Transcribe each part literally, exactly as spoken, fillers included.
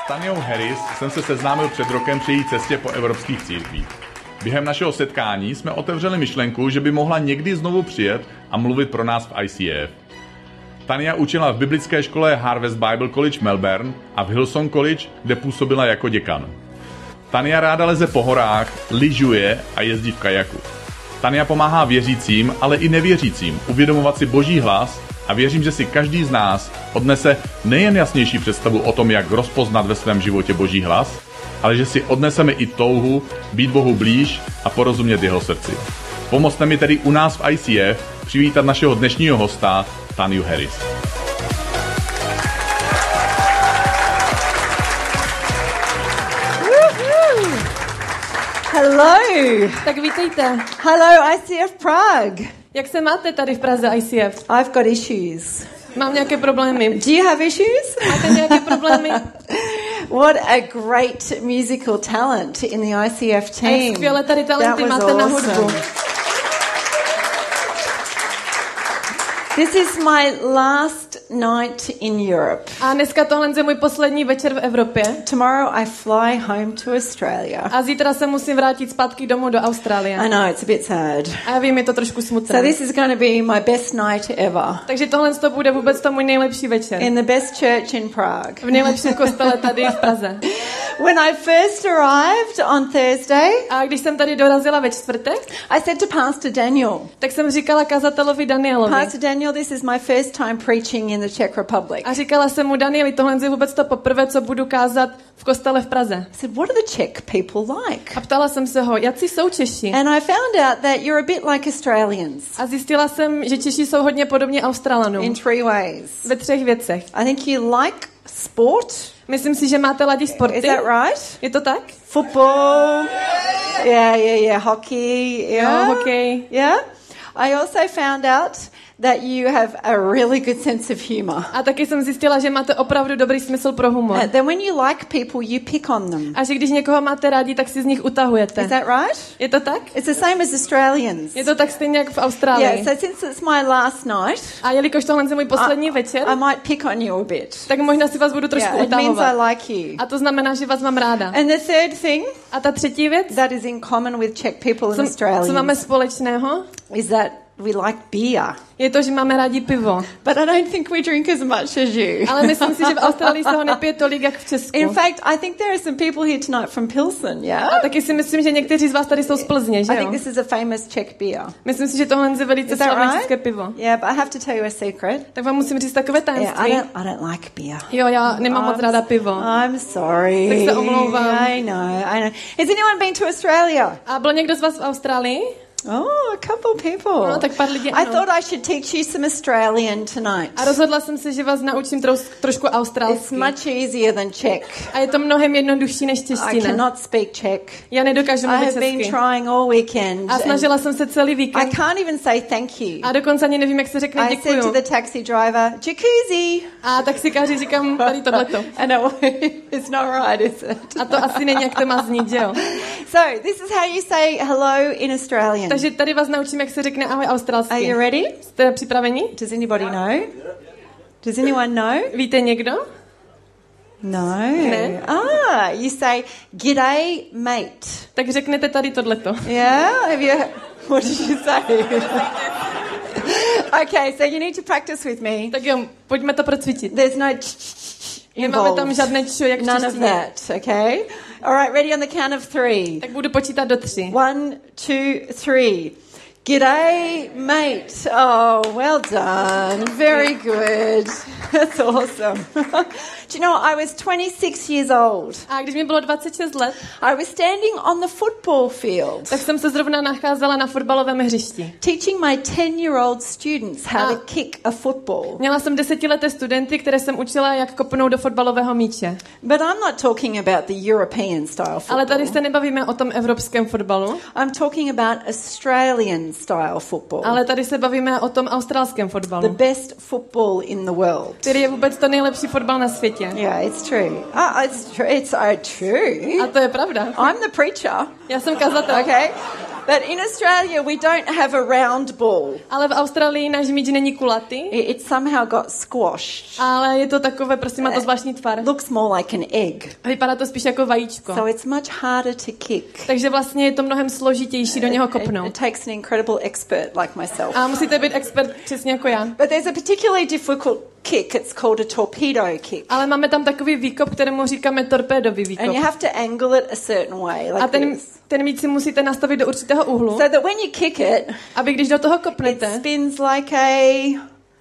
S Taniou Harris jsem se seznámil před rokem při její cestě po evropských církvích. Během našeho setkání jsme otevřeli myšlenku, že by mohla někdy znovu přijet a mluvit pro nás v I C F. Tania učila v biblické škole Harvest Bible College Melbourne a v Hillsong College, kde působila jako děkan. Tania ráda leze po horách, lyžuje a jezdí v kajaku. Tania pomáhá věřícím, ale i nevěřícím uvědomovat si Boží hlas a věřím, že si každý z nás odnese nejen jasnější představu o tom, jak rozpoznat ve svém životě Boží hlas, ale že si odneseme i touhu být Bohu blíž a porozumět jeho srdci. Pomozte mi tedy u nás v I C F přivítat našeho dnešního hosta, Taniu Harris. Hello. Tak vítejte. Hello, I C F Prague. Jak se máte tady v Praze I C F? I've got issues. Mám nějaké problémy. Do you have issues? Máte nějaké problémy? What a great musical talent in the I C F team. A skvělé tady talenty máte na hudbu. This is my last night in Europe. A dneska tohle je můj poslední večer v Evropě. Tomorrow I fly home to Australia. A zítra se musím vrátit zpátky domů do Austrálie. I know, it's a bit sad. A já vím, je to trošku smutné. So this is going to be my best night ever. Takže tohle to bude vůbec to můj nejlepší večer. In the best church in Prague. V nejlepším kostele tady v Praze. When I first arrived on Thursday, a když jsem tady dorazila ve čtvrtek, I said to Pastor Daniel, tak jsem říkala kazatelovi Danielovi. Pastor Daniel, this is my first time preaching in the Czech Republic. A říkala jsem mu, Danieli, tohle je vůbec to poprvé, co budu kázat v kostele v Praze. I said, what do the Czech people like? A ptala jsem se ho, jací jsou Češi? And I found out that you're a bit like Australians. A zjistila jsem, že Češi jsou hodně podobně Australanům. In three ways. Ve třech věcech. I think you like sport. Myslím si, že máte rádi sporty. Is that right? Je to tak? Football. Yeah, yeah, yeah. Hockey. Yeah. Jo, hokej. Yeah. I also found out that you have a really good sense of humor. A taky jsem zjistila, že máte opravdu dobrý smysl pro humor. And then when you like people, you pick on them. A že když někoho máte rádi, tak si z nich utahujete. Is that right? Je to tak? It's the same as Australians. Je to tak stejně jak v Austrálii. Yeah, so since it's my last night, a jelikož tohle je můj poslední I, večer, I might pick on you a bit. Tak možná si vás budu trošku yeah, utahovat. It means I like you. A to znamená, že vás mám ráda. And the third thing, a ta třetí věc, that is in common with Czech people and co, Australians, co máme společného, is that we like beer. Je to, že máme rádi pivo. But I don't think we drink as much as you. Ale myslím si, že v Austrálii se ho nepije tolik, jak v Česku. In fact, I think there are some people here tonight from Pilsen, yeah? A taky si myslím, že někteří z vás tady jsou z Plzně, že jo? I think this is a famous Czech beer. Myslím si, že tohle je velice slavné right? české pivo. Yeah, but I have to tell you a secret. Tak vám musím říct takové tajemství. Yeah, I don't, I don't like beer. Jo, já nemám moc ráda pivo. I'm sorry. Tak se omlouvám. I know, I know. Has anyone been to Australia? A byl někdo z vás v Austrálii? Oh, a couple people. No, tak pár lidí, I thought I should teach you some Australian tonight. A rozhodla jsem se, že vás naučím troš, trošku australsky. It's much easier than Czech. A je to mnohem jednodušší než čeština. I cannot speak Czech. Já nedokážu mluvit česky. I have been trying all weekend. A snažila jsem se celý víkend. I can't even say thank you. A dokonce ani nevím, jak se řekne děkuju. I said to the taxi driver, jacuzzi. A taxikáři říkám tady tohleto. I know, it's not right, is it? A to asi není, jak to má znít, že jo? So, this is how you say hello in Australian. Takže tady vás naučím, jak se řekne ahoj australsky. Are you ready? Jste připraveni? Does anybody know? Does anyone know? Víte někdo? No. Ne? Ah, you say g'day mate. Tak řeknete tady tohleto. Yeah? Have you What did you say? Okay, so you need to practice with me. Tak jo, pojďme to procvičit. There's no Nemáme tam žádné čo, jak v None of that, okay? All right, ready on the count of three. Tak budu počítat do tři. One, two, three. G'day, mate. Oh, well done. Very good. That's awesome. Do you know, I was twenty-six years old. A když mi bylo dvacet šest let, I was standing on the football field. Tak jsem se zrovna nacházela na fotbalovém hřišti. Teaching my ten-year-old students how a to kick a football. Měla jsem desetileté studenty, které jsem učila, jak kopnout do fotbalového míče. But I'm not talking about the European style football. Ale tady se nebavíme o tom evropském fotbalu. I'm talking about Australian style football. Ale tady se bavíme o tom australském fotbalu. The best football in the world. Který je vůbec to nejlepší fotbal na světě. Yeah, it's true. Oh, it's true. It's uh, true. A to je pravda. I'm the preacher. Já jsem kazatel. Okay. But in Australia, we don't have a round ball. Ale v Austrálii náš míč není kulatý, It, it somehow got squashed. ale je to takové, prostě má to zvláštní tvar. Looks more like an egg. A vypadá to spíš jako vajíčko. So it's much harder to kick. Takže vlastně je to mnohem složitější do něho It, kopnout. it takes an incredible expert like myself. A musíte být expert přesně jako já. But there's a particularly difficult kick. It's called a torpedo kick. Ale máme tam takový výkop, kterému říkáme torpédový výkop. And you have to angle it a certain way, A like ten, this. ten míč si musíte nastavit do určitého úhlu, So that when you kick it, aby když do toho it kopnete, spins like a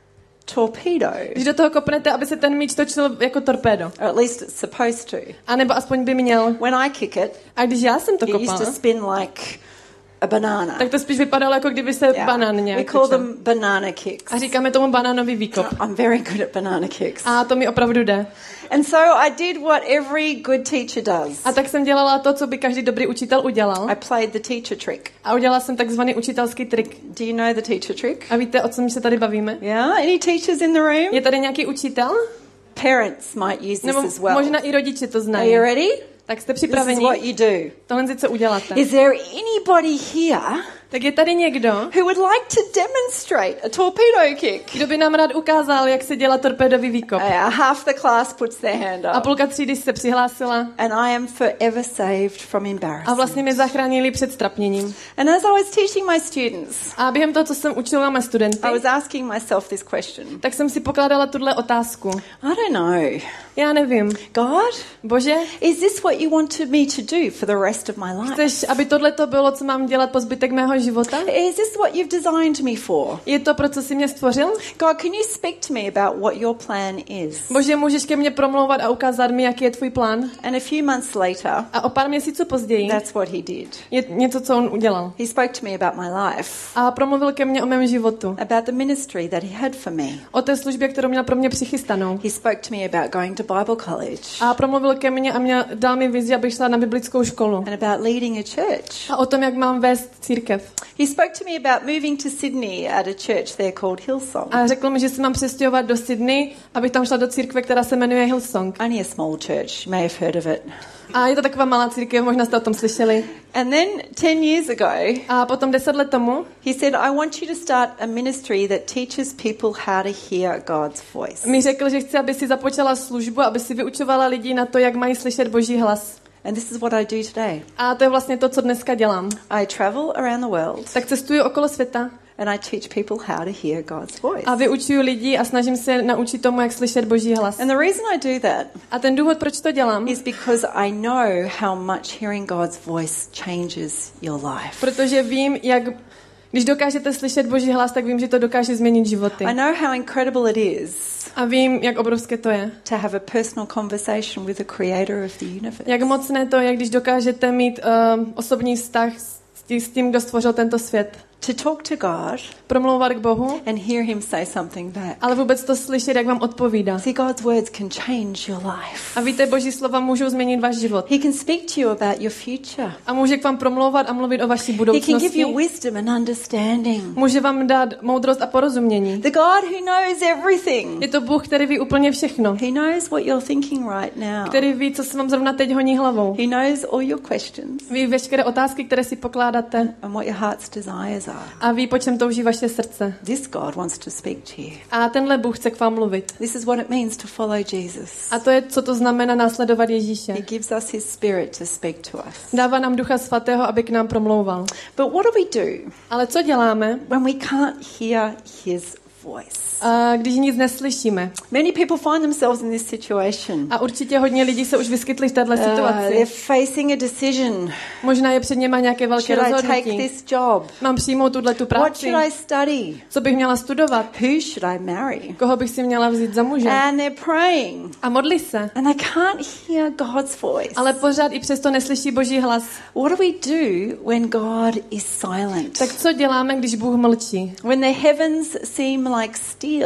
torpedo. když do toho kopnete, aby se ten míč točil jako torpédo. Or at least it's supposed to. A nebo aspoň by měl. When I kick it, A když já jsem to it used kopala, to spin like a banana. tak to spíš vypadalo, jako kdyby se Yeah. banán We nějak call točil. them banana kicks. A říkáme tomu banánový výkop. I'm very good at banana kicks. A to mi opravdu jde. And so I did what every good teacher does. A tak jsem dělala to, co by každý dobrý učitel udělal. I played the teacher trick. A udělala jsem takzvaný učitelský trik. Do you know the teacher trick? A víte, o čem se tady bavíme? Yeah? Any teachers in the room? Je tady nějaký učitel? Parents might use this Nebo as well. možná i rodiče to Are znají. you ready? Tak jste This is připraveni? what you do. Tohle je, co uděláte. Is there anybody here Tak je tady někdo, who would like to demonstrate a torpedo kick? kdo by nám rád ukázal, jak se dělá torpédový výkop. Uh, half the class puts their hand A up. půlka třídy se přihlásila And I am forever saved from a embarrassment. vlastně mě zachránili před strapněním. And as I was teaching my students, A během toho, co jsem učila mé studenty, I was asking myself this question. tak jsem si pokládala tuhle otázku. I don't know. Já nevím. God, Bože, is this what you wanted me to do for the rest of my life? chceš, aby tohle to bylo, co mám dělat po zbytek mého života? Is this what you've designed me for? Je to, pro co jsi mě stvořil? God, can you speak to me about what your plan is? Bože, můžeš ke mně promlouvat a ukázat mi, jaký je tvůj plán? And a few months later, A o pár měsíců později that's what he did. je něco, co on udělal. He spoke to me about my life, A promluvil ke mně o mém životu. about the ministry that he had for me. O té službě, kterou měl pro mě přichystanou. He spoke to me about going to Bible college A promluvil ke mně a měl, dal mi vizi, abych šla na biblickou školu. and about leading a church. A o tom, jak mám vést církev. He spoke to me about moving to Sydney at a church there called Hillsong. A řekl mi, že se mám přestěhovat do Sydney, abych tam šla do církve, která se jmenuje Hillsong. Only a small church, you may have heard of it. A je to taková malá církev, možná jste o tom slyšeli. And then ten years ago, A potom deset let tomu he said, I want you to start a ministry that teaches people how to hear God's voice. mi řekl, že chce, aby si započala službu, aby si vyučovala lidi na to, jak mají slyšet Boží hlas. And this is what I do today. A to je vlastně to, co dneska dělám. I travel around the world Tak cestuju okolo světa and I teach people how to hear God's voice. a vyučuju lidi a snažím se naučit tomu, jak slyšet Boží hlas. And the reason I do that A ten důvod, proč to dělám, is because I know how much hearing God's voice changes your life. protože vím, jak když dokážete slyšet Boží hlas, tak vím, že to dokáže změnit životy. I know how incredible it is A vím, jak obrovské to je. to have a personal conversation with the creator of the universe. Jak mocné to je, když dokážete mít uh, osobní vztah s tím, s tím, kdo stvořil tento svět. To talk to God Promlouvat k Bohu, and hear him say something back. ale vůbec to slyšet, jak vám odpovídá. See, God's words can change your life. A víte, Boží slova můžou změnit váš život. He can speak to you about your future. A může k vám promlouvat a mluvit o vaší He can give budoucnosti. you wisdom and understanding. Může vám dát moudrost a porozumění. The God who knows everything. Je to Bůh, který ví úplně všechno. He knows what you're thinking right now. Který ví, co se vám zrovna teď honí hlavou. He knows all your questions Ví veškeré otázky, které si pokládáte. and what your heart's desires are. A ví, po čem touží vaše srdce. This God wants to speak to you. A tenhle Bůh chce k vám mluvit. This is what it means to follow Jesus. A to je, co to znamená následovat Ježíše. He gives us his spirit to speak to us. Dává nám Ducha Svatého, aby k nám promlouval. But what do we do Ale co děláme, when we can't hear his voice? a když nic neslyšíme? Many people find themselves in this situation. A určitě hodně lidí se už vyskytli v této Uh, they're situaci. facing a decision. Možná je před něma nějaké velké Should I take rozhodnutí. this job? Mám přijmout tuhle tu What práci? should I study? Co bych měla studovat? Who should I marry? Koho bych si měla vzít za muže? And they're praying A modlí se. and they can't hear God's voice. Ale pořád i přesto neslyší Boží hlas. What do we do when God is silent? Tak co děláme, když Bůh mlčí? When the heavens seem like steel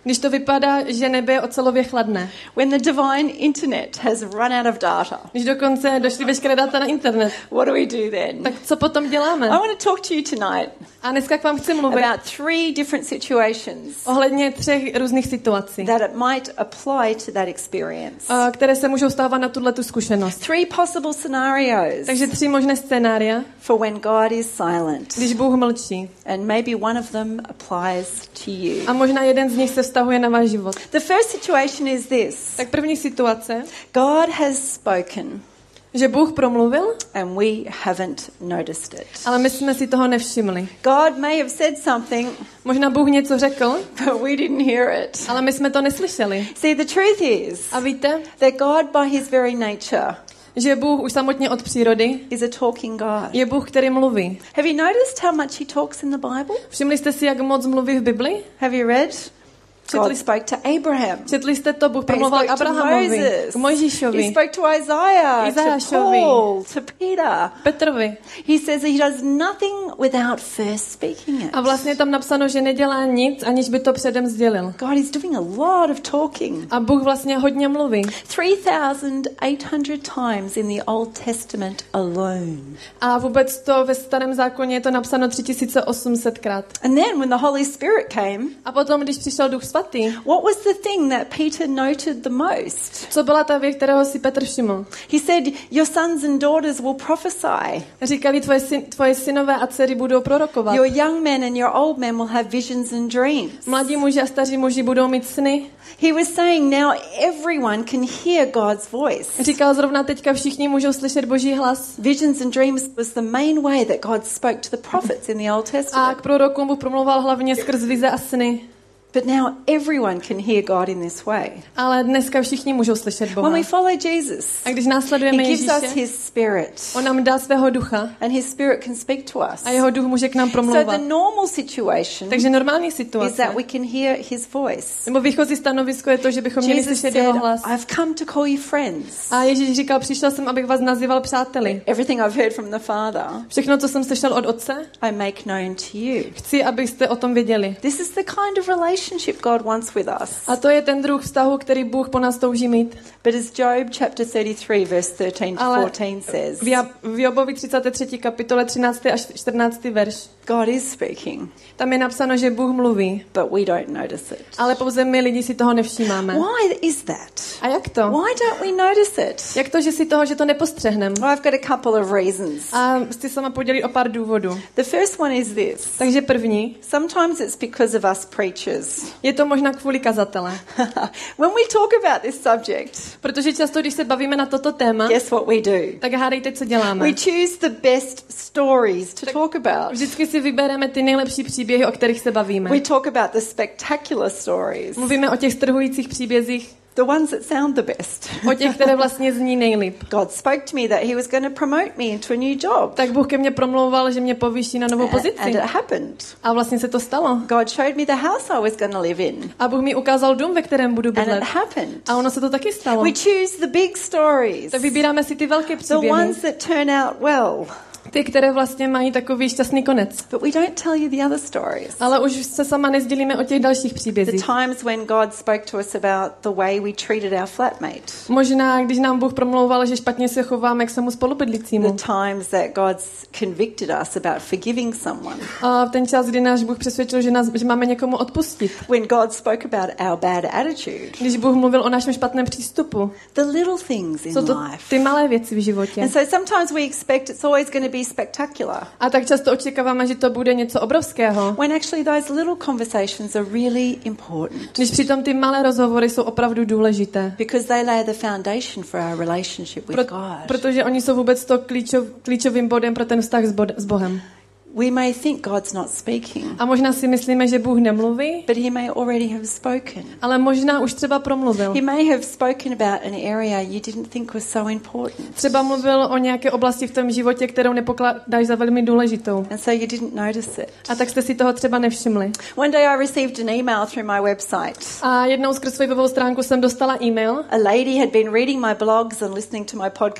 Když to vypadá, že nebe je ocelově chladné. When the divine internet has run out of data. Když dokonce došly veškeré data na internet. What do we do then? Tak co potom děláme? I want to talk to you tonight. A dneska k vám chci mluvit about three different situations ohledně třech různých situací, that it might apply to that experience. uh, které se můžou stávat na tuhle tu zkušenost. Three possible scenarios. Takže tři možné scénária, for when God is silent. Když Bůh mlčí. And maybe one of them applies to you. A možná jeden z nich se vztahuje na váš život. The first situation is this. Tak první situace. God has spoken. Že Bůh promluvil, and we haven't noticed it. Ale my jsme si toho nevšimli. God may have said something, možná Bůh něco řekl, but we didn't hear it. Ale my jsme to neslyšeli. See, the truth is, a víte, that God by his very nature, že Bůh už samotně od přírody is a talking God. Je Bůh, který mluví. Have you noticed how much he talks in the Bible? Všimli jste si, jak moc mluví v Bibli? Have you read? God spoke to Abraham. Četli jste to, Bůh promluvil k Abrahamovi, k Mojžíšovi, he spoke to Isaiah, to Paul, to Peter. Petrovi. He says he does nothing without first speaking it. A vlastně tam napsáno, že nedělá nic, aniž by to předem sdělil. God is doing a lot of talking. A Bůh vlastně hodně mluví. three thousand eight hundred times in the Old Testament alone. A vůbec to ve Starém zákoně je to napsáno tři tisíce osm set krát. And then when the Holy Spirit came, a potom, když přišel Duch Svatý, what was the thing that Peter noted the most? Co byla ta věc, kterého si Petr všiml? He said, your sons and daughters will prophesy. Říkali, tvoje, syn, tvoje synové a dcery budou prorokovat. Your young men and your old men will have visions and dreams. Mladí muži a staří muži budou mít sny. He was saying now everyone can hear God's voice. Říkal zrovna teďka všichni můžou slyšet Boží hlas. Visions and dreams was the main way that God spoke to the prophets in the Old Testament. A k prorokům Bůh promlouval hlavně skrz vize a sny. But now everyone can hear God in this way. Ale dneska všichni můžou slyšet Boha. When we follow Jesus, a když následujeme he gives Ježíše, us his spirit. On nám dá svého ducha. And his spirit can speak to us. A jeho duch může k nám promlouvat. So the normal situation Takže normální situace is that we can hear his voice. Nebo výchozí stanovisko je to, že bychom měli Jesus slyšet said, jeho hlas. I've come to call you friends. A Ježíš říkal, přišel jsem, abych vás nazýval přáteli. Everything I've heard from the Father, všechno, co jsem slyšel od Otce, I make known to you. Chci, abyste o tom věděli. This is the kind of relationship God wants with us. A to je ten druh vztahu, který Bůh po nás touží mít. But as Job chapter thirty-three verse thirteen to fourteen says, v Jobovi třicáté třetí kapitole třináctý až čtrnáctý verš. God is speaking. Tam je napsáno, že Bůh mluví. But we don't notice it. Ale pouze my lidi si toho nevšímáme. Why is that? A jak to? Why don't we notice it? Jak to, že si toho, že to nepostřehneme? Well, I've got a couple of reasons. A chci sama podělit o pár důvodů. The first one is this. Takže první. Sometimes it's because of us preachers. Je to možná kvůli kazatele. When we talk about this subject, protože často, když se bavíme na toto téma, guess what we do? Tak hádejte, co děláme. We choose the best stories to tak talk about. Vždycky si vybereme ty nejlepší příběhy, o kterých se bavíme. We talk about the spectacular stories. Mluvíme o těch strhujících příbězích. The ones that sound the best. O těch, které vlastně zní nejlíp. God spoke to me that he was going to promote me into a new job. Tak Bůh ke mně promlouval, že mě povýší na novou pozici. And it happened. A vlastně se to stalo. God showed me the house I was going to live in. A Bůh mi ukázal dům, ve kterém budu bydlet. And it happened. A ono se to taky stalo. We choose the big stories. Tak vybíráme si ty velké příběhy. The ones that turn out well. Ty, které vlastně mají takový šťastný konec. But we don't tell you the other stories. Ale už se sama nezdělíme o těch dalších příbězích. The times when God spoke to us about the way we treated our flatmate. Možná, když nám Bůh promlouval, že špatně se chováme k svému spolubydlícímu. The times that God's convicted us about forgiving someone. A ten čas, kdy náš Bůh přesvědčil, že, nás, že máme někomu odpustit. When God spoke about our bad attitude. Když Bůh mluvil o našem špatném přístupu. The little things in Jsou to life. ty malé věci v životě. And so sometimes we expect it's always going to be spectacular. A tak často očekáváme, že to bude něco obrovského. When actually those little conversations are really important. Když přitom ty malé rozhovory jsou opravdu důležité. Because they lay the foundation for our relationship with Pro, God. Protože oni jsou vůbec to klíčov, klíčovým bodem pro ten vztah s, bod, s Bohem. We may think God's not speaking. A možná si myslíme, že Bůh nemluví, but he may already have spoken. Ale možná už třeba promluvil. He may have spoken about an area you didn't think was so important. Třeba mluvil o nějaké oblasti v tom životě, kterou nepokládáš za velmi důležitou. And so you didn't notice it. A tak jste si toho třeba nevšimli. One day I received an email through my website. A jednou skrz svou webovou stránku jsem dostala e-mail. A lady had been reading my blogs and listening to my podcasts.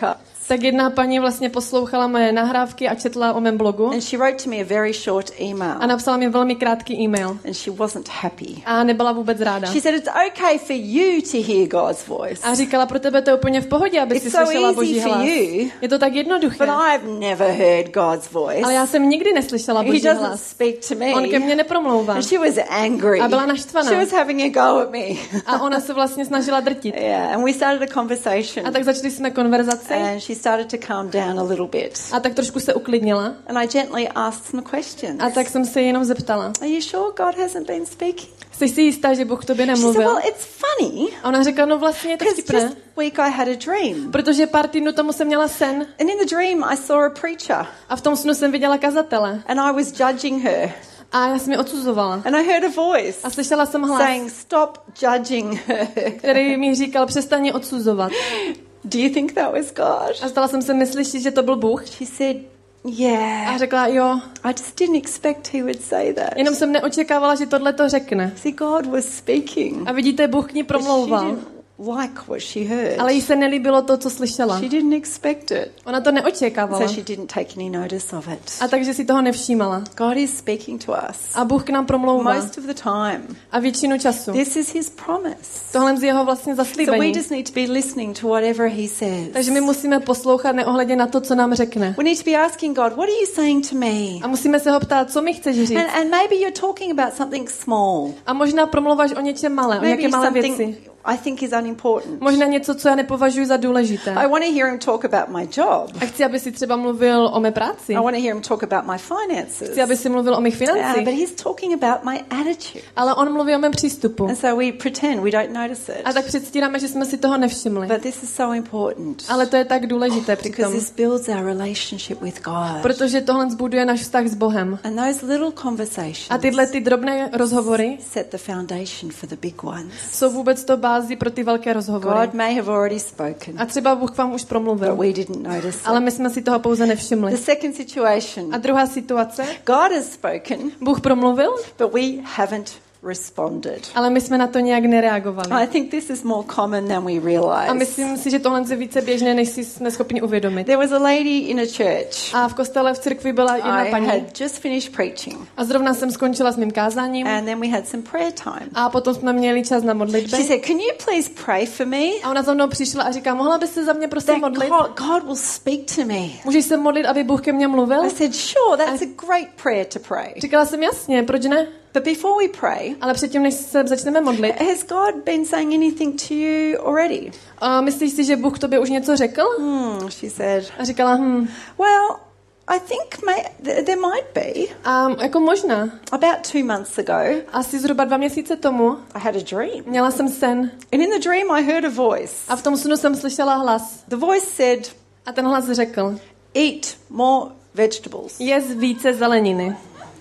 tak jedna paní vlastně poslouchala moje nahrávky a četla o mém blogu. And she wrote to me a very short email. A napsala mi velmi krátký e-mail. And she wasn't happy. A nebyla vůbec ráda. She said it's okay for you to hear God's voice. A říkala, pro tebe to je úplně v pohodě, aby si so slyšela Boží for hlas. You, je to tak jednoduché. But I've never heard God's voice. Ale já jsem nikdy neslyšela Boží He doesn't hlas. speak to me. On ke mně nepromlouvá. And she was angry. A byla naštvaná. She was having a go at me. A ona se vlastně snažila drtit. Yeah, and we started a conversation. A tak začali jsme konverzaci. And she started to calm down a little bit. A tak trošku se uklidnila. And I gently asked some questions. A tak jsem se jenom zeptala. Are you sure God hasn't been speaking? Jsi si jistá, že Bůh k tobě nemluvil? She said, well, it's funny. A ona řekla, no vlastně je to vtipné. Just week I had a dream. Protože pár týdnů tomu jsem měla sen. And in the dream I saw a preacher. A v tom snu jsem viděla kazatele. And I was judging her. A já jsem ji odsuzovala. And I heard a voice. A slyšela jsem hlas. Saying, stop judging her. Který mi říkal, přestaň ji odsuzovat. Do you think that was God? A stala jsem se myslet, že to byl Bůh. She said, yeah. A řekla, jo. I just didn't expect he would say that. Jenom jsem neočekávala, že tohle to řekne. See, God was speaking. A vidíte, Bůh k ní promlouval. Like what she heard. Ale jí se nelíbilo to, co slyšela. She didn't expect it. Ona to neočekávala. So she didn't take any notice of it. A takže si toho nevšímala. God is speaking to us. A Bůh k nám promlouvá. Most of the time. A většinu času. This is his promise. Tohle je jeho vlastně zaslíbení. So we just need to be listening to whatever he says. Takže my musíme poslouchat neohledně na to, co nám řekne. We need to be asking God, what are you saying to me? A musíme se ho ptát, co mi chceš říct. And, and maybe you're talking about something small. A možná promlouváš o něčem malé, o nějaké malé věci. I think is unimportant. Možná něco, co já nepovažuji za důležité. I want to hear him talk about my job. A chci, aby si třeba mluvil o mé práci. I want to hear him talk about my finances. Chci, aby si mluvil o mých financích. Yeah, but he's talking about my attitude. Ale on mluví o mém přístupu. And so we pretend we don't notice it. A tak předstíráme, že jsme si toho nevšimli. But this is so important. Ale to je tak důležité přitom. Because this builds our relationship with God. Protože tohle zbuduje náš vztah s Bohem. And those little conversations. A tyhle ty drobné rozhovory set the foundation for the big ones. Jsou vůbec to bází pro ty velké rozhovory. God may have already spoken. A třeba Bůh k vám už promluvil. But we didn't notice it. Ale my jsme si toho pouze nevšimli. The second situation. A druhá situace. God has spoken. Bůh promluvil. But we haven't responded. Ale my jsme na to nějak nereagovali. I think this is more common than we realize. A myslím si, že tohle je více běžné, než si jsme schopni uvědomit. There was a lady in a church. A v kostele v církvi byla jedna paní. I had just finished preaching. A zrovna jsem skončila s mým kázáním. And then we had some prayer time. A potom jsme měli čas na modlitby. She said, "Can you please pray for me?" A ona za mnou přišla a říká, mohla bys se za mě prosím modlit? God, God will speak to me. Můžeš se modlit, aby Bůh ke mně mluvil? I said, "Sure, that's a great prayer to pray." Říkala jsem jasně, proč ne? But before we pray, ale předtím, než se začneme modlit, has God been saying anything to you already? A myslíš si, že Bůh tobě už něco řekl? Hmm, she said. A říkala, hm. Well, I think may, there might be. A jako možná. About two months ago. Asi zhruba dva měsíce tomu. I had a dream. Měla jsem sen. And in the dream I heard a voice. A v tom snu jsem slyšela hlas. The voice said. A ten hlas řekl. Eat more vegetables. Jez více zeleniny.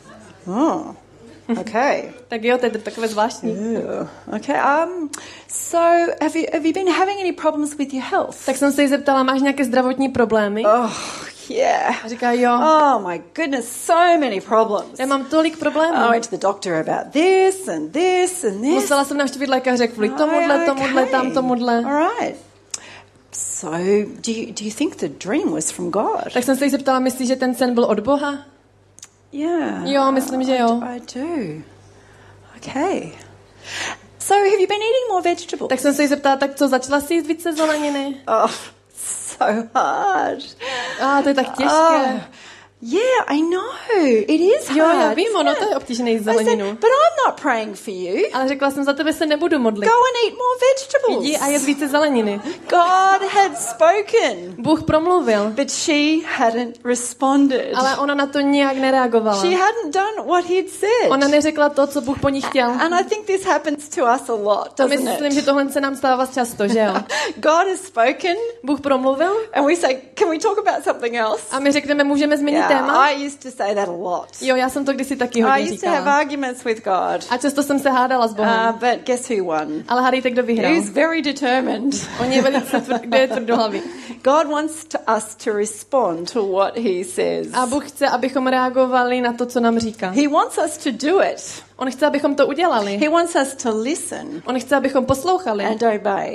Oh. Okay. Tak jo, to je takové zvláštní. Yeah. Okay. Um. So, have you have you been having any problems with your health? Tak jsem se jí zeptala, máš nějaké zdravotní problémy? Oh, yeah. A říká, jo. Oh my goodness, so many problems. Já mám tolik problémů. I went to the doctor about this and this and this. Musela jsem navštívit lékaře kvůli tomuhle, tomuhle, tam tomuhle. All right. So, do you do you think the dream was from God? Tak jsem se jí zeptala, myslíš, že ten sen byl od Boha? Yeah. Jo, myslím, že jo. I do. Okay. So, have you been eating more vegetables? Tak jsem se jí zeptala, tak co, začala si jíst více zeleniny? Oh, so hard. A to je tak těžké. Oh. Yeah, I know. It is hard. Jo, já vím, ono to je obtížné jíst zeleninu. Said, but I'm not praying for you. Ale řekla jsem, za tebe se nebudu modlit. Go and eat more vegetables. Jdi a jet více zeleniny. God had spoken. Bůh promluvil. But she hadn't responded. Ale ona na to nějak nereagovala. She hadn't done what he'd said. Ona neřekla to, co Bůh po ní chtěl. And I think this happens to us a lot, doesn't it? Myslím, že tohle se nám stává často, že jo? God has spoken. Bůh promluvil. And we say, can we talk about something else? A my řekneme, můžeme změnit yeah, téma. I used to say that a lot. Jo, já jsem to kdysi taky hodně I used to have říkala. arguments with God. A často jsem se hádala s Bohem. Uh, but guess who won? Ale hádejte, kdo vyhrál. He's very determined. On je velice tvr- kdo je tvrdohlavý. God wants to us to respond to what he says. A Bůh chce, abychom reagovali na to, co nám říká. He wants us to do it. On chce, abychom to udělali. He wants us to listen. On chce, abychom poslouchali. And obey.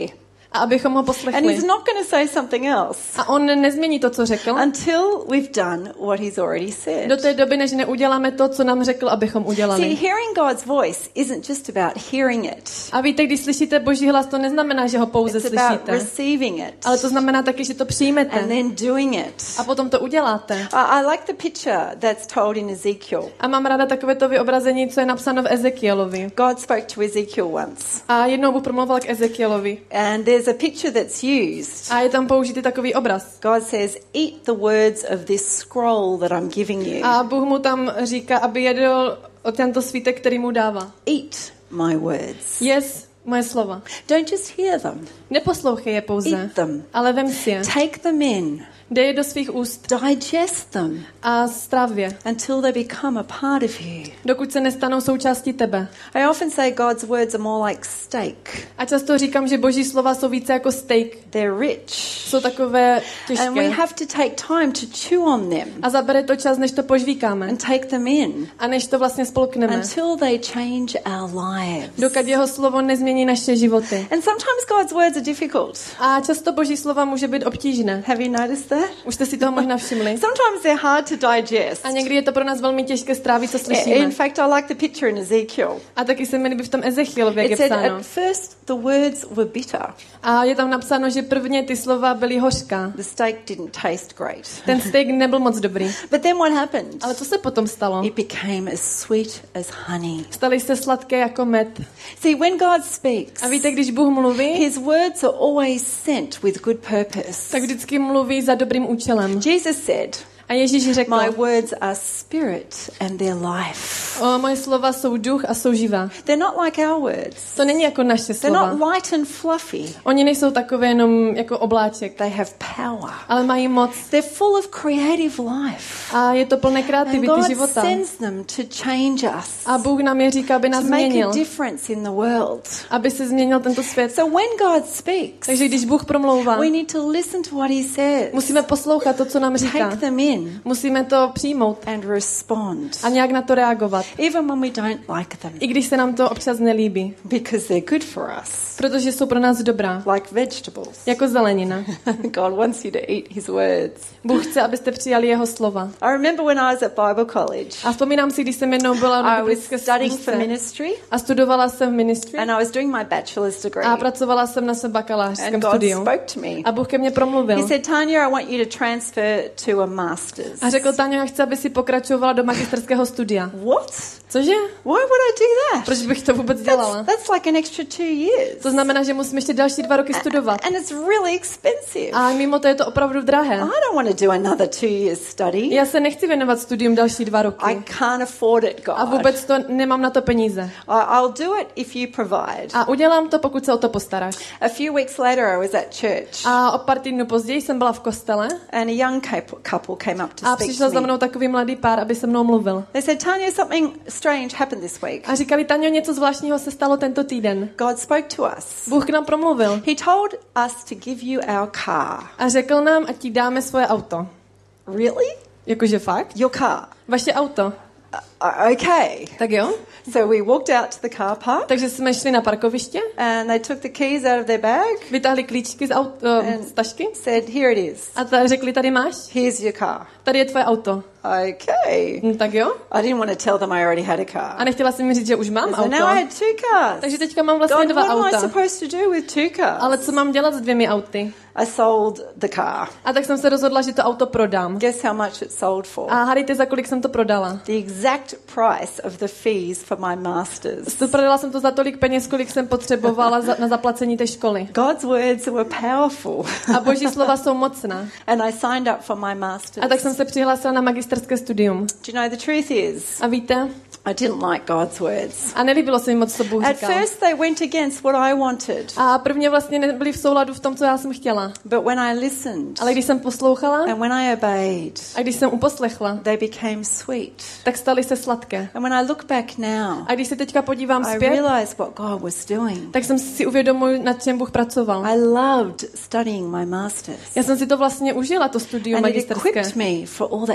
A abychom ho And poslechli. he's not going to say something else A on nezmění to, co řekl, until we've done what he's already said. do té doby, než neuděláme to, co nám řekl, abychom See, udělali. hearing God's voice isn't just about hearing it. A víte, když slyšíte Boží hlas, to neznamená, že ho pouze It's about slyšíte. receiving it Ale to znamená taky, že to and přijmete then doing it. a potom to uděláte. I I like the picture that's told in Ezekiel. A mám ráda takové to vyobrazení, co je napsáno v Ezekielovi. God spoke to Ezekiel once, A jednou Bůh promluvil k Ezekielovi. and there's a picture that's used. A je tam použitý takový obraz. God says, "Eat the words of this scroll that I'm giving you. A Bůh mu tam říká, aby jedl o tento svítek, který mu dává. Eat my words. Yes, moje slova. Don't just hear them. Neposlouchej je pouze, Eat them. ale vem si je. Take them in. Dej je do svých úst Digest them a stráv je, until they become a part of you." dokud se nestanou součástí tebe. I often say God's words are more like steak. A často říkám, že Boží slova jsou více jako steak. They're rich. Jsou takové And we těžké. have to take time to chew on them A zabere to čas, než to požvíkáme. and take them in A než to vlastně spolkneme. until they change our lives. Dokud jeho slovo nezmění naše životy. And sometimes God's words are difficult. A často Boží slova může být obtížné. Have you noticed that? Už jste si toho možná všimli. Sometimes they're hard to digest. A někdy je to pro nás velmi těžké strávit, co In slyšíme. fact, I like the picture in Ezekiel. A taky se mi líbí v tom Ezechielovi, jak je It said psáno. at first the words were bitter. A je tam napsáno, že prvně ty slova byly hořká. The steak didn't taste great. Ten steak nebyl moc dobrý. But then what happened? Ale co se potom stalo? It became as sweet as honey. Staly se sladké jako med. See, when God speaks, A víte, když Bůh mluví, his words are always sent with good purpose. tak vždycky mluví za dobrým účelem. Jesus said, A Ježíš řekl, "My words are spirit and they're life." o, moje slova jsou duch a jsou živá. They're not like our words. To není jako naše They're slova. not light and fluffy. Oni nejsou takové jenom jako obláček, They have power. ale mají moc. They're full of creative life. A je to plné And kreativity God života. sends them to change us, A Bůh nám je říká, aby nás to make změnil. a difference in the world. Aby se změnil tento svět. So when God speaks, Takže když Bůh promlouvá, we need to listen to what he says, musíme poslouchat to, co nám říká. take them in Musíme to přijmout and respond, a nějak na to reagovat. even when we don't like them, I když se nám to občas nelíbí. because they're good for us, Protože jsou pro nás dobrá. like vegetables. Jako zelenina. God wants you to eat his words. Bůh chce, abyste přijali jeho slova. I remember when I was at Bible college, A vzpomínám si, když jsem jednou byla na I was biblické studying for škole ministry a studovala jsem v ministry and I was doing my bachelor's degree. a pracovala jsem na svém bakalářském And God studiu. spoke to me. A Bůh ke mně promluvil. He said, "Tanya, I want you to transfer to a master's." A řekl, Táňo, já chci, aby si pokračovala do magisterského studia. What? Cože? Why would I do that? Proč bych to vůbec That's, dělala? that's like an extra two years. To znamená, že musím ještě další dva roky studovat. And it's really expensive. A mimo to je to opravdu drahé. I don't want to do another two years study. Já se nechci věnovat studium další dva I roky. can't afford it, God. A vůbec to nemám na to peníze. I, I'll do it if you provide. A udělám to, pokud se o to postaráš. A few weeks later, I was at church, A o pár týdnů později jsem byla v kostele and a young couple couple came up to a speak přišel to za me. mnou takový mladý pár, aby se mnou mluvil. They said, "Tanya, something strange happened this week. A říkali, Taňo, něco zvláštního se stalo tento týden. God spoke to us. Bůh k nám promluvil He told us to give you our car." a řekl nám, ať ti dáme svoje auto. Really? Jakože fakt? Your car? Vaše auto. Uh, okay. Tak jo? So we walked out to the car park, Takže jsme šli na parkoviště, and they took the keys out of their bag, vytáhli klíčky z, aut, uh, z tašky said, "Here it is. a ta, řekli, tady máš, Here's your car." tady je tvoje auto. Okay. Hm, tak jo? I didn't want to tell them I already had a car. A nechtěla jsem mi říct, že už mám So now I auto. had two cars. Takže teďka mám vlastně God, dva what am I auta. supposed to do with two cars? Ale co mám dělat s dvěmi auty? I sold the car. A tak jsem se rozhodla, že to auto prodám. Guess how much it sold for? A hádejte, za kolik jsem to prodala. The exact price of the fees for my masters. To prodala jsem to za tolik peněz, kolik jsem potřebovala za, na zaplacení té školy. God's words were powerful. A Boží slova jsou mocná. And I signed up for my masters. A tak jsem se přihlásila na magisterské studium. Do you know the truth is, A víte? I didn't like God's words. A nelíbilo se mi moc, co Bůh At říkal. first they went against what I wanted. A prvně vlastně nebyli v souladu v tom, co já jsem chtěla. But when I listened Ale když jsem poslouchala and when I obeyed, a když jsem uposlechla, they became sweet. tak staly se sladké. And when I look back now, A když se teďka podívám I zpět, realize what God was doing. tak jsem si uvědomil, nad čem Bůh pracoval. I loved studying my masters. Já jsem si to vlastně užila, to studium And it magisterské. equipped me for all that God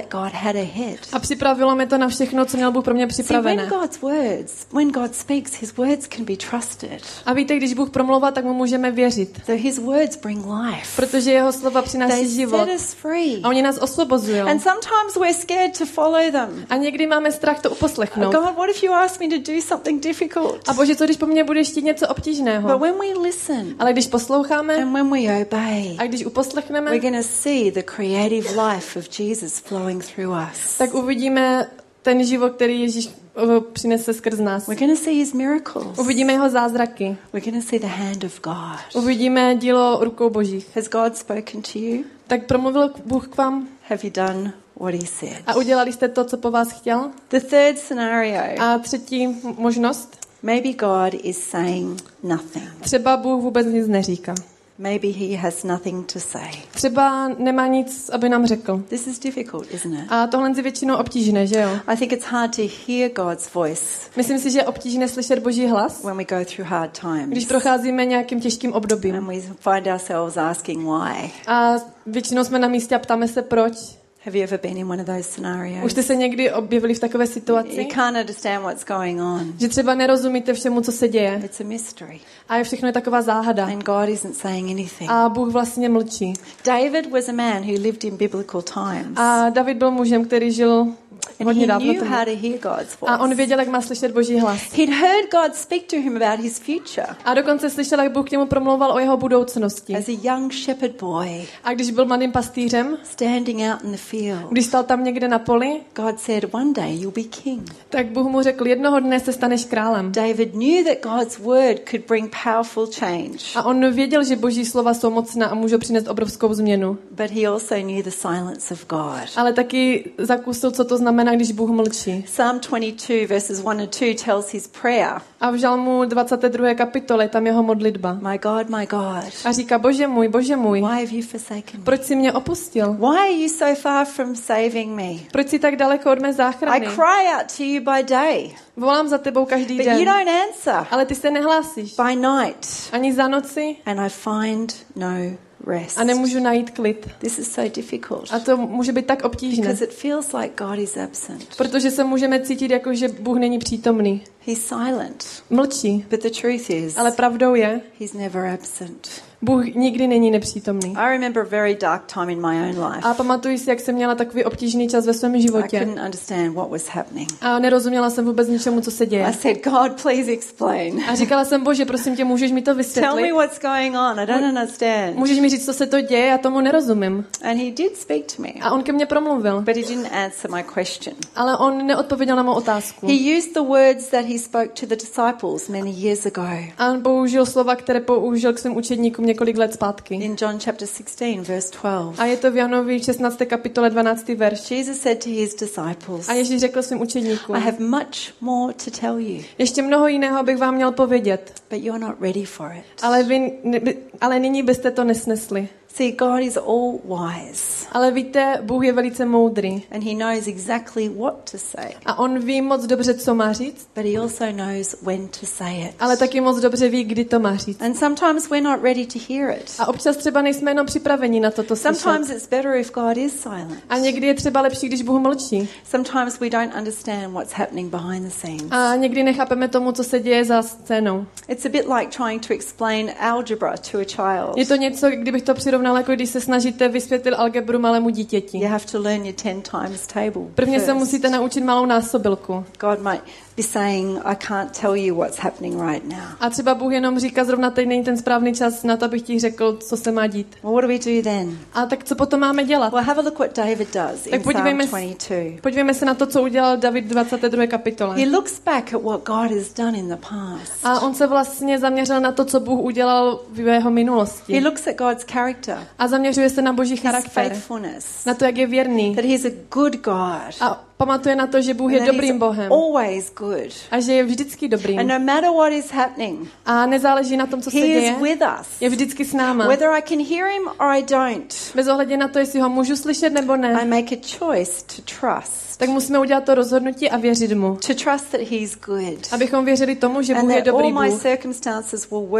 had ahead. A připravilo mě to na všechno, co měl Bůh pro mě See, when připravené. God's words, when God speaks, his words can be trusted. A víte, když Bůh promlouvá, tak mu můžeme věřit. So his words bring life. Protože jeho slova přináší They život. set us free. A oni nás osvobozují. And sometimes we're scared to follow them. A někdy máme strach to uposlechnout. God, what if you ask me to do something difficult? A Bože, co když po mně budeš chtít něco obtížného? But when we listen Ale když posloucháme and when we obey, a když uposlechneme, we're going to see the creative life of Jesus flowing through us. tak uvidíme ten život, který Ježíš uh, přinese skrz nás. We're going to see his miracles. Uvidíme jeho zázraky. We're going to see the hand of God. Uvidíme dílo rukou Božích. Has God spoken to you? Tak promluvil Bůh k vám Have you done what he said? a udělali jste to, co po vás chtěl? The third scenario, A třetí m- možnost. maybe God is saying nothing. Třeba Bůh vůbec nic neříká. Maybe he has nothing to say. Třeba nemá nic, aby nám řekl. This is difficult, isn't it? A tohle je většinou obtížné, že jo? I think it's hard to hear God's voice Myslím si, že je obtížné slyšet Boží hlas, when we go through hard když times procházíme nějakým těžkým obdobím. and we find ourselves asking why. A většinou jsme na místě a ptáme se proč. Have you ever been in one of those scenarios? Už jste se někdy objevili v takové You situaci, can't understand what's going on. že třeba nerozumíte všemu, co se děje. It's a mystery. A je všechno je taková záhada. And God isn't saying anything. A Bůh vlastně mlčí. David was a man who lived in biblical times. A David byl mužem, který žil And hodně he dávno knew tomu. how to hear God's A on voice. věděl, jak má slyšet Boží hlas. He'd heard God speak to him about his future. A dokonce slyšel, jak Bůh k němu promlouval o jeho budoucnosti. As a young shepherd boy, A když byl mladým pastýřem, standing out in the field, když stal tam někde na poli, God said, one day you'll be king. tak Bůh mu řekl, jednoho dne se staneš králem. David knew that God's word could bring powerful change, A on věděl, že Boží slova jsou mocná a můžou přinést obrovskou změnu. but he also knew the silence of God. Ale taky zakusil, co to znamená, když Bůh mlčí. Psalm twenty-two verses one and two tells his prayer, A v Žalmu dvacáté druhé kapitole tam jeho modlitba. my God, my God, A říká, Bože můj, Bože můj, why have you forsaken me? proč jsi mě opustil? Why are you so far from saving me? Proč jsi tak daleko od mé I záchrany? cry out to you by day, Volám za tebou každý but you den, don't answer. ale ty se nehlásíš. By night, Ani za noci and I find no rest. a nemůžu najít klid. This is so difficult A to může být tak obtížné, because it feels like God is absent. protože se můžeme cítit jako, že Bůh není přítomný. He's silent, Mlčí, but the truth is, ale pravdou je, he's never absent. Bůh nikdy není nepřítomný. I remember a very dark time in my own life. A pamatuji si, jak jsem měla takový obtížný čas ve svém I životě. couldn't understand what was happening. A nerozuměla jsem vůbec ničemu, co se I děje. said, God, please explain. A říkala jsem, Bože, prosím tě, můžeš mi to Tell vysvětlit? me what's going on. I don't understand. Můžeš mi říct, co se to děje? Já tomu nerozumím. And he did speak to me, A on ke mně promluvil. but he didn't answer my question. Ale on neodpověděl na mou otázku. He used the words that he spoke to the disciples many years ago. A on použil slova, které použil k svým učedníkům několik let zpátky. In John chapter sixteen, verse twelve, A je to v Janovi šestnácté kapitole dvanáctý verš. Jesus said to his disciples, A Ježíš řekl svým učedníkům, I have much more to tell you, ještě mnoho jiného bych vám měl povědět, but you're not ready for it. ale, vy, ne, ale nyní byste to nesnesli. See, God is all wise, Ale víte, Bůh je velice moudrý. and he knows exactly what to say, A on ví moc dobře, co má říct, but he also knows when to say it. ale taky moc dobře ví, kdy to má říct. And sometimes we're not ready to hear it. A občas třeba nejsme jenom připraveni na toto slyšet. Sometimes it's better if God is silent. A někdy je třeba lepší, když Bůh mlčí. Sometimes we don't understand what's happening behind the scenes. A někdy nechápeme tomu, co se děje za scénou. It's a bit like trying to explain algebra to a child. Je to něco, kdybych to přirovnala, jako když se snažíte vysvětlit algebru malému dítěti. You have to learn your ten times table. Prvně se first. musíte naučit malou násobilku. God might be saying, I can't tell you what's happening right now. A třeba Bůh jenom říká, zrovna teď není ten správný čas na to, abych ti řekl, co se má dít. Well, what do we do then? A tak co potom máme dělat? Well, have a look what David does Tak in Psalm podívejme, twenty-two. podívejme se na to, co udělal David v dvacáté druhé kapitole. He looks back at what God has done in the past. A on se vlastně zaměřil na to, co Bůh udělal v jeho He minulosti. looks at God's character, A zaměřuje se na Boží his charakter, faithfulness, na to, jak je věrný. that he's a good God, A pamatuje na to, že Bůh je and that dobrým he's Bohem. always good. A že je vždycky And dobrým. no matter what is happening, A nezáleží na tom, co se he děje. is with us. Je vždycky s náma. Whether I can hear him or I don't, Bez ohledu na to, jestli ho můžu slyšet nebo I ne, make a choice to trust. tak musíme udělat to rozhodnutí a věřit mu. To trust that he's good. Abychom věřili tomu, že And Bůh je that all dobrý my Bůh. circumstances will work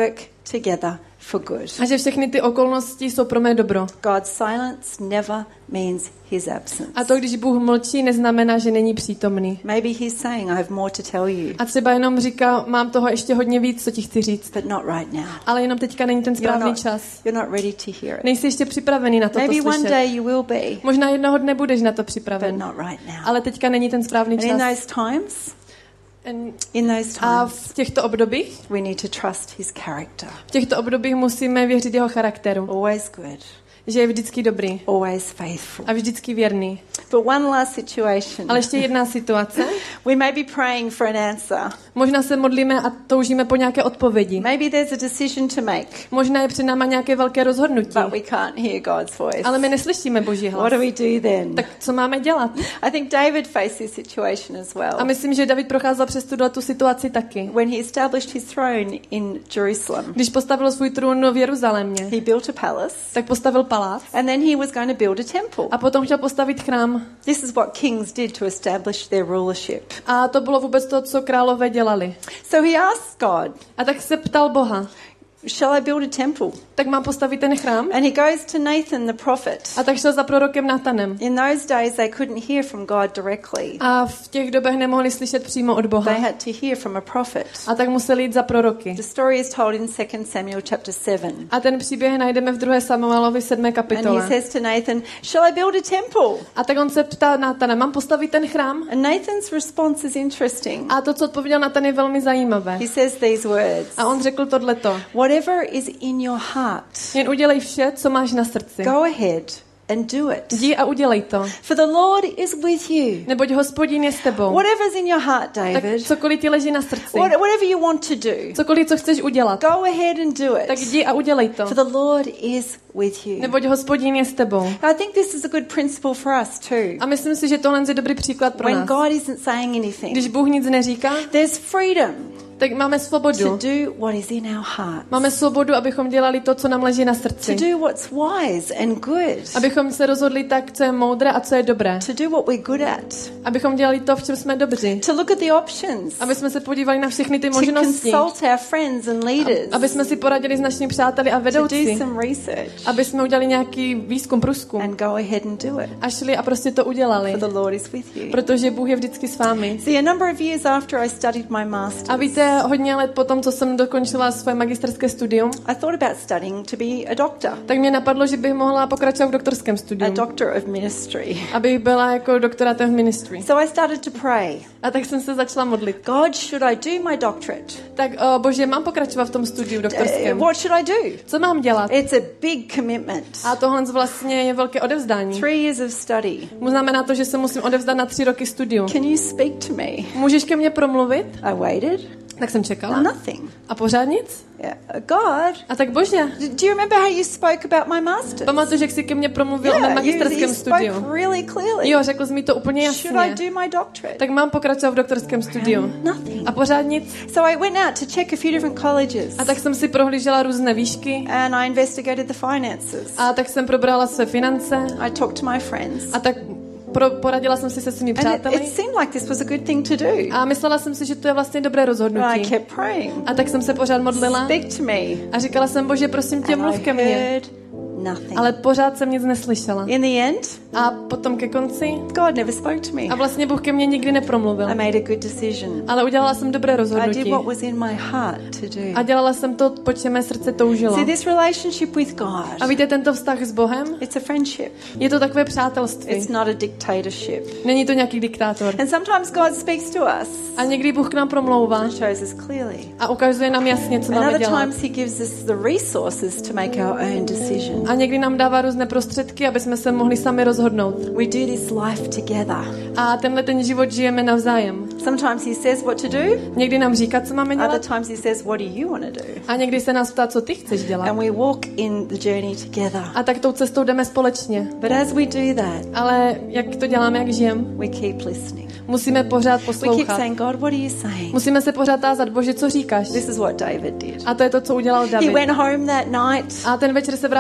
together for good. A že všechny ty okolnosti jsou pro mé dobro. God's silence never means his absence. A to, když Bůh mlčí, neznamená, že není přítomný. Maybe he's saying, I have more to tell you, A třeba jenom říká, mám toho ještě hodně víc, co ti chci říct. but not right now. Ale jenom teďka není ten You're správný not, čas. you're not ready to hear it. Nejsi ještě připravený na to Maybe one slyšet. day you will be, Možná jednoho dne budeš na to but připraven. not right now. Ale teďka není ten správný And in čas. those times, En- in those A times, v těchto obdobích, we need to trust his character. v těchto obdobích musíme věřit jeho charakteru. Always good, Že je vždycky dobrý always faithful. a vždycky věrný. But one last situation. Ale ještě jedna situace. We may be praying for an answer. Možná se modlíme a toužíme po nějaké odpovědi. Maybe there's a decision to make, Možná je před náma nějaké velké rozhodnutí. but we can't hear God's voice. Ale my neslyšíme Boží What hlas. do we do then? Tak co máme dělat? I think David faced this situation as well. A myslím, že David procházel přes tuhle tu situaci taky. When he established his throne in Jerusalem, Když postavil svůj trůn v Jeruzalémě, he built a palace, tak postavil palác and then he was going to build a temple. a potom chtěl postavit chrám. This is what kings did to establish their rulership. A to bylo vůbec to, co králové dělali. So he asked God, A tak se ptal Boha, shall I build a temple? tak mám postavit ten chrám? And he goes to Nathan the prophet. A tak šel za prorokem Natanem. In those days, they couldn't hear from God directly. A v těch dobách nemohli slyšet přímo od Boha. They had to hear from a prophet. A tak museli jít za proroky. The story is told in Second Samuel chapter seven. A ten příběh najdeme v druhé Samuelovi sedmé And he kapitole. says to Nathan, shall I build a temple? A tak on se ptá Natana, mám postavit ten chrám? And Nathan's response is interesting. A to, co odpověděl Natan, je velmi zajímavé. He says these words, A on řekl tohleto. whatever is in your heart, Jen udělej vše, co máš na srdci. go ahead and do it. Jdi a udělej to. For the Lord is with you. Neboť Hospodin je s tebou. Whatever's in your heart, Tak David, cokoliv ti leží na srdci. what- whatever you want to do, Cokoliv, co chceš udělat. go ahead and do Tak it. jdi a udělej to. For the Lord is with you. Neboť Hospodin je s tebou. I think this is a good principle for us too. A myslím si, že tohle je dobrý příklad pro When nás. God isn't saying anything, Když Bůh nic neříká, there's freedom tak máme to svobodu. do what is in our hearts. Máme svobodu, abychom dělali to, co nám leží na To srdci. do what's wise and good. Abychom se rozhodli tak, co je moudré a co je dobré. To do what we're good at. Abychom dělali to, v čem jsme dobří. To look at the options. Aby jsme se podívali na všechny ty To možnosti. consult our friends and leaders. Aby jsme si poradili s našimi přáteli a To do vedoucí. some research. Aby jsme udělali nějaký výzkum, průzkum. And go ahead and do it. A šli a prostě to udělali. For the Lord is with you. Protože Bůh je vždycky s vámi. See, a number of years after I studied my master's, A víte, hodně let potom, co jsem dokončila svoje magisterské studium, I thought about studying to be a doctor, tak mě napadlo, že bych mohla pokračovat v doktorském a studiu. doctor of ministry. Abych byla jako doktorátem v ministry. So I started to pray. A tak jsem se začala modlit. God, should I do my doctorate? Tak, o, bože, mám pokračovat v tom studiu Uh, doktorském. what should I do? Co mám dělat? It's a big commitment. A tohle vlastně je velké odevzdání. Three years of study. Znamená to, že se musím odevzdat na tři roky studiu. Can you speak to me? Můžeš ke mně promluvit? I waited. Tak jsem čekala. Nothing. A pořád nic? Yeah. Uh, God, A tak bože, do you remember how you spoke about my master's? pamatuju, že jsi ke mně promluvil o mém Yeah, you, you magisterském studiu. spoke really clearly. Jo, řekl jsi mi to úplně Should I jasně. do my doctorate? Tak mám pokračovat v doktorském studiu. Nothing. A pořád nic. So I went out to check a few different colleges, A tak jsem si prohlížela různé výšky. and I investigated the finances. A tak jsem probrala své finance. I talked to my friends. A tak pro, poradila jsem si se svými And it, přáteli. it seemed like this was a good thing to do. A myslela jsem si, že to je vlastně dobré But I rozhodnutí. kept praying. A tak jsem se pořád modlila. Speak to me. A říkala jsem, bože, prosím tě, And mluv I ke mně. heard nothing. Ale pořád jsem nic neslyšela. In the end, A potom ke konci. God never spoke to me. A vlastně Bůh ke mně nikdy nepromluvil. I made a good decision. Ale udělala jsem dobré I did rozhodnutí. what was in my heart to do. A dělala jsem to, po čem mé srdce toužilo. See, this relationship with A God, víte, tento vztah s Bohem, it's a friendship. je to takové přátelství. It's not a dictatorship. Není to nějaký diktátor. And sometimes God speaks to us A někdy Bůh k nám promlouvá and shows us clearly. a ukazuje nám jasně, co And máme other dělat. times he gives us the resources to make our own decision. A někdy nám dává různé prostředky, aby jsme se mohli sami rozhodnout. We do this life together. A tenhle ten život žijeme navzájem. Sometimes he says what to do, Někdy nám říká, co máme other dělat, times he says, what do you want to do? a někdy se nás ptá, co ty chceš dělat. And we walk in the journey together. A tak tou cestou jdeme společně. But as we do that, Ale jak to děláme, jak žijeme? we keep listening. Musíme pořád We keep poslouchat. saying, God, what are you saying? Musíme se pořád tázat, Bože, co říkáš? This is what David did. A to je to, co udělal He David. went home that night A ten večer se vrátil and he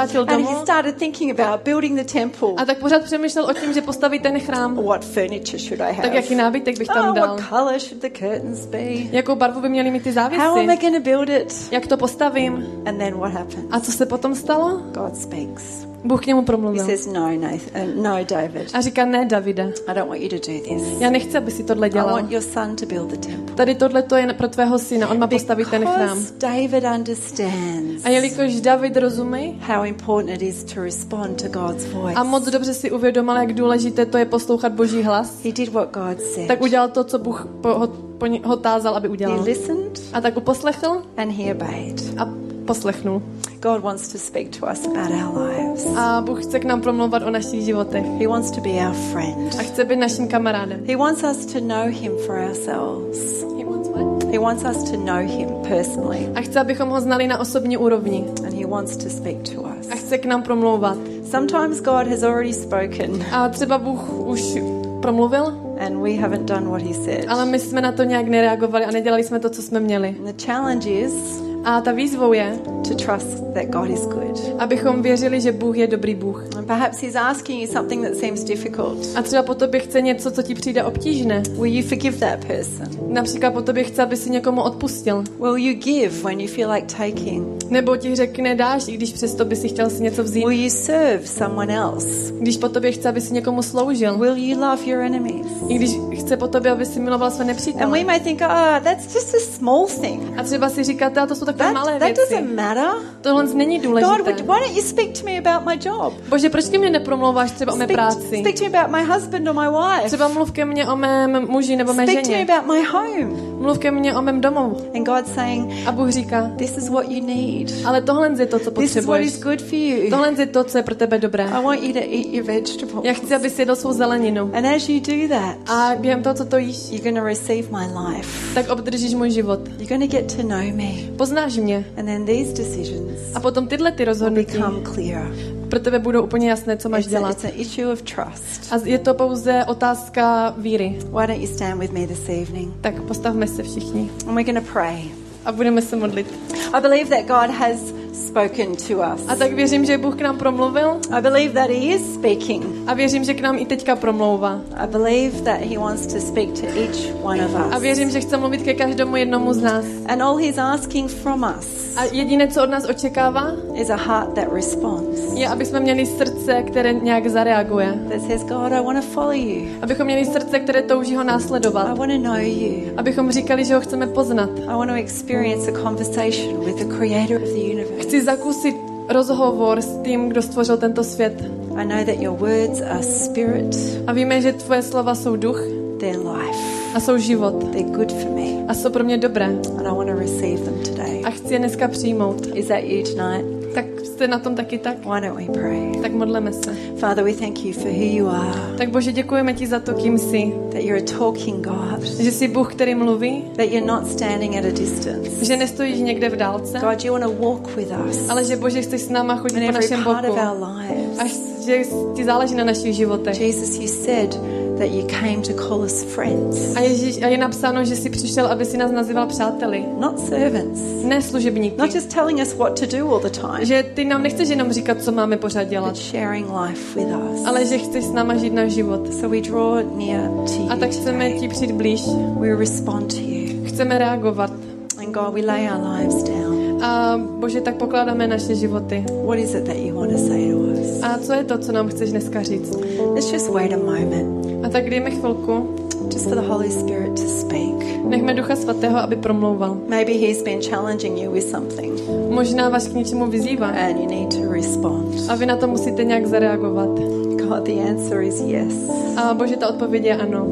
domu. he started thinking about building the temple. A tak pořád přemýšlel o tím, že postaví ten chrám. What furniture should I have? Tak jaký nábytek bych tam Oh, dal? what color should the curtains be? Jakou barvu by měly mít ty How am I závěsy? going to build it? Jak to postavím? And then what happens? A co se potom stalo? God speaks. Bůh k němu He promluvil. says, no, Nathan, uh, no, David. A říká, ne, Davide, I don't want you to do this. já nechci, aby si tohle I dělal. want your son to build the temple. Tady tohle to je pro tvého syna, on má postavit ten chrám. Because David understands A jelikož David rozumí how important it is to respond to God's voice. a moc dobře si uvědomil, jak důležité to je poslouchat Boží hlas, He did what God said. tak udělal to, co Bůh po, ho, po, ně- ho tázal, aby He udělal. listened A tak uposlechl and he obeyed. a poslechnul. God wants to speak to us about our lives. A Bůh chce k nám promlouvat o našich životech. He wants to be our friend. A chce být naším kamarádem. He wants us to know him for ourselves. He wants what? He wants us to know him personally. A chce, abychom ho znali na osobní úrovni. And he wants to speak to us. A chce k nám promlouvat. Sometimes God has already spoken A třeba Bůh už promluvil, and we haven't done what he said. ale my jsme na to nějak nereagovali a nedělali jsme to, co jsme měli. And the challenge is A ta výzvou je, to trust that God is good. abychom věřili, že Bůh je dobrý Bůh. And perhaps he's asking you something that seems difficult. A třeba po tobě chce něco, co ti přijde obtížné. Will you forgive that person? Například po tobě chce, aby si někomu odpustil. Will you give when you feel like taking? Nebo ti řekne dáš, i když přesto by si chtěl si něco vzít. Will you serve someone else? Když po tobě chce, aby si někomu sloužil. Will you love your enemies? I když chce po tobě, aby si miloval své And nepřítele. we may think, oh, that's just a small thing. A třeba si říkáte, a to jsou takové malé That, that věci. doesn't matter. Tohle není God, důležité. would, why don't you speak to me about my job? Bože, proč ke mně nepromlouváš třeba o mé Speak, práci? speak to me about my husband or my wife. Třeba mluv ke mně o mém muži nebo mé Speak to me ženě. about my home. Mluv ke mně o mém domu. And God's saying, A Bůh říká, this is what you need. ale tohle je to, co This is what is potřebuješ. good for you. Tohle je to, co je pro tebe dobré. I want you to eat your vegetables. Já chci, aby si jedl svou zeleninu. And as you do that, A během toho, co to jíš, you're going to receive my life. tak obdržíš můj život. You're going to get to know me. Poznáš mě. And then these decisions A potom tyhle ty rozhodnutí become clearer. pro tebe budou úplně jasné, co máš It's, a, dělat. it's an issue of trust. A je to pouze otázka víry. Why don't you stand with me this evening? Tak postavme se všichni And we're going to pray. a budeme se modlit. I believe that God has spoken to us. A tak věřím, že Bůh k nám promluvil I believe that He is speaking. a věřím, že k nám i teďka promlouvá. I believe that He wants to speak to each one of A us. věřím, že chce mluvit ke každému jednomu z nás. And all He's asking from us A jediné, co od nás očekává, is a heart that responds. je, aby jsme měli srdce, které nějak zareaguje. That says, God, I want to follow you. Abychom měli srdce, které touží ho I následovat. want to know you. Abychom říkali, že ho chceme poznat. I want to experience a conversation with the creator of the universe. Chci zakusit rozhovor s tím, kdo stvořil tento svět. I know that your words are spirit, A víme, že tvoje slova jsou duch they're life. a jsou život. They're good for me. A jsou pro mě dobré. And I want to receive them today. A chci je dneska přijmout. Is that you tonight? Tak jste na tom taky tak? Why don't we pray? Tak modleme se. Father, we thank you for who you are, Tak Bože, děkujeme ti za to, kým jsi. that you're a talking God, Že jsi Bůh, který mluví. that you're not standing at a distance. Že nestojíš někde v dálce. God, you want to walk with us Ale že Bože, chceš s náma chodit in po every našem part of boku. our lives. A že ti záleží na našich životech. Jesus, you said that you came to call us friends, A, Ježíš, a je napsáno, že jsi přišel, aby si nás nazýval přáteli. not servants. Ne služebníky. Not just telling us what to do all the time, Že ty nám nechceš jenom říkat, co máme pořád but dělat. sharing life with us. Ale že chceš s náma žít náš život. So we draw near to you A tak chceme today. ti přijít blíž. We respond to you. Chceme reagovat. And God, we lay our lives down. A Bože, tak pokládáme naše životy. What is it that you want to say to us? A co je to, co nám chceš dneska říct? Let's just wait a moment, A tak dejme chvilku. just for the Holy Spirit to speak. Nechme Ducha Svatého, aby promlouval. Maybe He's been challenging you with something Možná vás k něčemu vyzývá. and you need to respond. A vy na to musíte nějak zareagovat. God, the answer is yes. A Bože, ta odpověď je ano.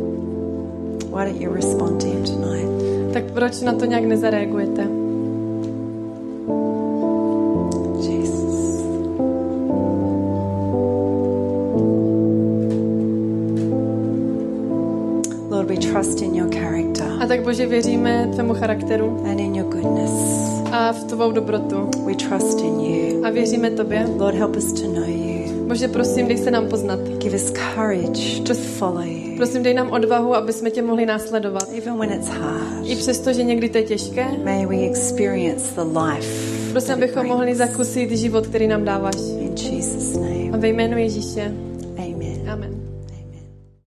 Why don't you respond to Him tonight? Tak proč na to nějak nezareagujete? Jesus. Lord, we trust in your character A tak Bože, věříme tvému charakteru and in your goodness. a v tvou dobrotu. We trust in you. A věříme tobě. Lord, help us to know you. Bože, prosím, dej se nám poznat. Give us courage to follow you, Prosím, dej nám odvahu, aby jsme tě mohli následovat. even when it's hard. I přesto, že někdy to je těžké, May we experience the life prosím, that it abychom mohli brings. zakusit život, který nám dáváš. In In Jesus' name. A ve jménu Ježíše.